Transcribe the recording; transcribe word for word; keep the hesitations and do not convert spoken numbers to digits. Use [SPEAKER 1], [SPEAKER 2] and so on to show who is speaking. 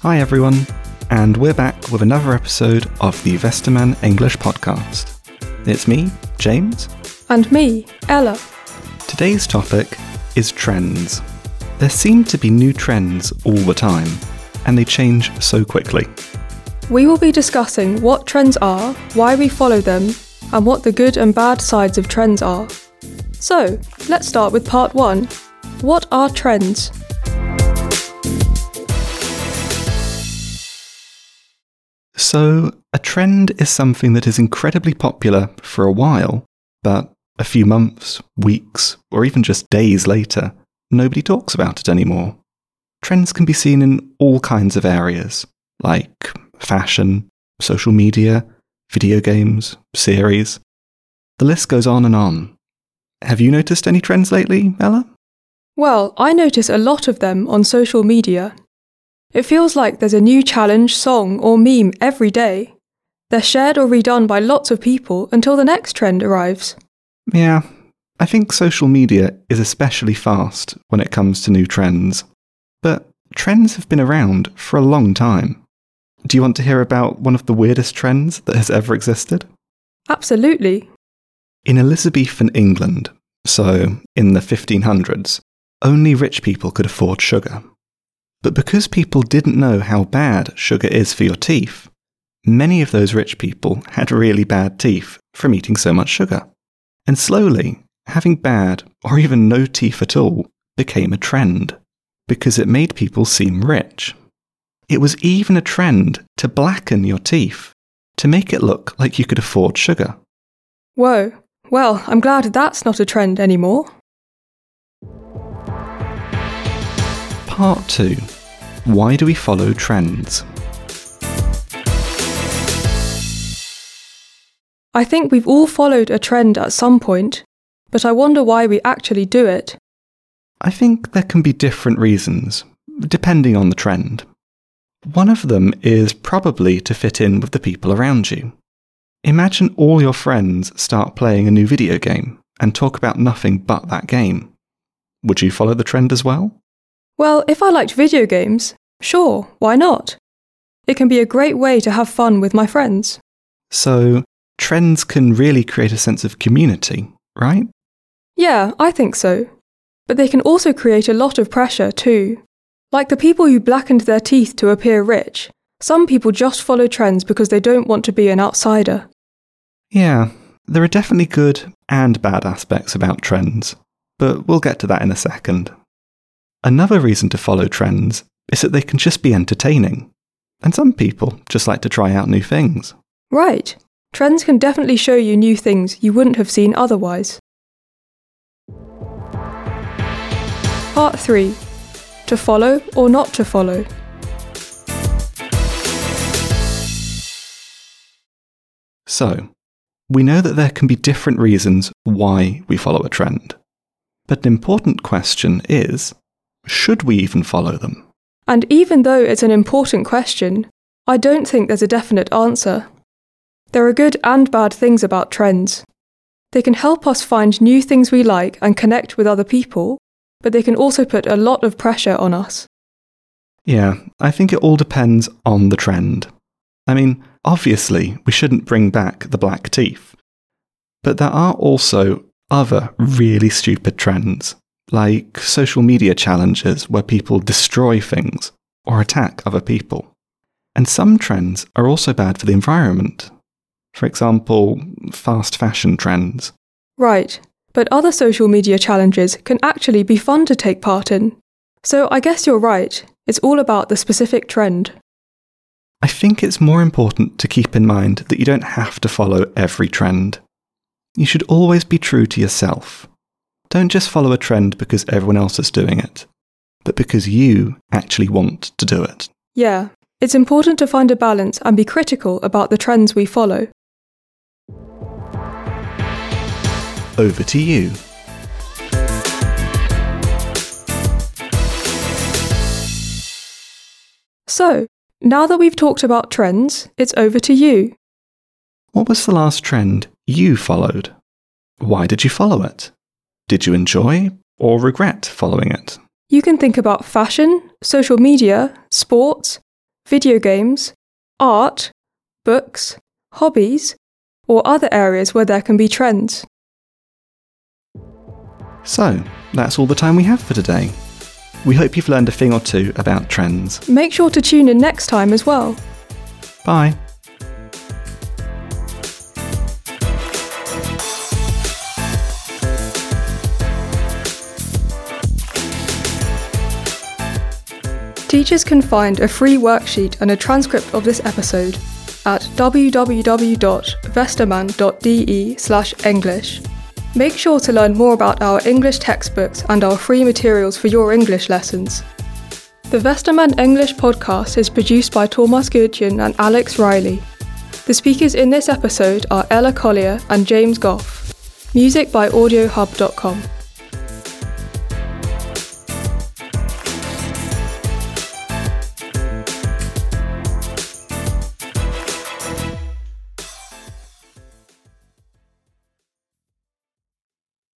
[SPEAKER 1] Hi everyone, and we're back with another episode of the Westermann English podcast. It's me, James.
[SPEAKER 2] And me, Ella.
[SPEAKER 1] Today's topic is trends. There seem to be new trends all the time, and they change so quickly.
[SPEAKER 2] We will be discussing what trends are, why we follow them, and what the good and bad sides of trends are. So, let's start with part one. What are trends?
[SPEAKER 1] So, a trend is something that is incredibly popular for a while, but a few months, weeks, or even just days later, nobody talks about it anymore. Trends can be seen in all kinds of areas, like fashion, social media, video games, series. The list goes on and on. Have you noticed any trends lately, Ella?
[SPEAKER 2] Well, I notice a lot of them on social media. It feels like there's a new challenge, song, or meme every day. They're shared or redone by lots of people until the next trend arrives.
[SPEAKER 1] Yeah, I think social media is especially fast when it comes to new trends. But trends have been around for a long time. Do you want to hear about one of the weirdest trends that has ever existed?
[SPEAKER 2] Absolutely.
[SPEAKER 1] In Elizabethan England, so in the fifteen hundreds, only rich people could afford sugar. But because people didn't know how bad sugar is for your teeth, many of those rich people had really bad teeth from eating so much sugar. And slowly, having bad or even no teeth at all became a trend, because it made people seem rich. It was even a trend to blacken your teeth, to make it look like you could afford sugar.
[SPEAKER 2] Whoa, well, I'm glad that's not a trend anymore.
[SPEAKER 1] Part two. Why do we follow trends?
[SPEAKER 2] I think we've all followed a trend at some point, but I wonder why we actually do it.
[SPEAKER 1] I think there can be different reasons, depending on the trend. One of them is probably to fit in with the people around you. Imagine all your friends start playing a new video game and talk about nothing but that game. Would you follow the trend as well?
[SPEAKER 2] Well, if I liked video games, sure, why not? It can be a great way to have fun with my friends.
[SPEAKER 1] So, trends can really create a sense of community, right?
[SPEAKER 2] Yeah, I think so. But they can also create a lot of pressure too. Like the people who blackened their teeth to appear rich, some people just follow trends because they don't want to be an outsider.
[SPEAKER 1] Yeah, there are definitely good and bad aspects about trends, but we'll get to that in a second. Another reason to follow trends is that they can just be entertaining, and some people just like to try out new things.
[SPEAKER 2] Right. Trends can definitely show you new things you wouldn't have seen otherwise. Part three. To follow or not to follow.
[SPEAKER 1] So, we know that there can be different reasons why we follow a trend. But an important question is, should we even follow them?
[SPEAKER 2] And even though it's an important question, I don't think there's a definite answer. There are good and bad things about trends. They can help us find new things we like and connect with other people, but they can also put a lot of pressure on us.
[SPEAKER 1] Yeah, I think it all depends on the trend. I mean, obviously, we shouldn't bring back the black teeth. But there are also other really stupid trends, like social media challenges where people destroy things or attack other people. And some trends are also bad for the environment. For example, fast fashion trends.
[SPEAKER 2] Right, but other social media challenges can actually be fun to take part in. So I guess you're right, it's all about the specific trend.
[SPEAKER 1] I think it's more important to keep in mind that you don't have to follow every trend. You should always be true to yourself. Don't just follow a trend because everyone else is doing it, but because you actually want to do it.
[SPEAKER 2] Yeah, it's important to find a balance and be critical about the trends we follow.
[SPEAKER 1] Over to you.
[SPEAKER 2] So, now that we've talked about trends, it's over to you.
[SPEAKER 1] What was the last trend you followed? Why did you follow it? Did you enjoy or regret following it?
[SPEAKER 2] You can think about fashion, social media, sports, video games, art, books, hobbies, or other areas where there can be trends.
[SPEAKER 1] So, that's all the time we have for today. We hope you've learned a thing or two about trends.
[SPEAKER 2] Make sure to tune in next time as well.
[SPEAKER 1] Bye.
[SPEAKER 2] Teachers can find a free worksheet and a transcript of this episode at w w w dot vesterman dot d e slash english. Make sure to learn more about our English textbooks and our free materials for your English lessons. The Vesterman English podcast is produced by Thomas Gudjon and Alex Riley. The speakers in this episode are Ella Collier and James Goff. Music by audio hub dot com.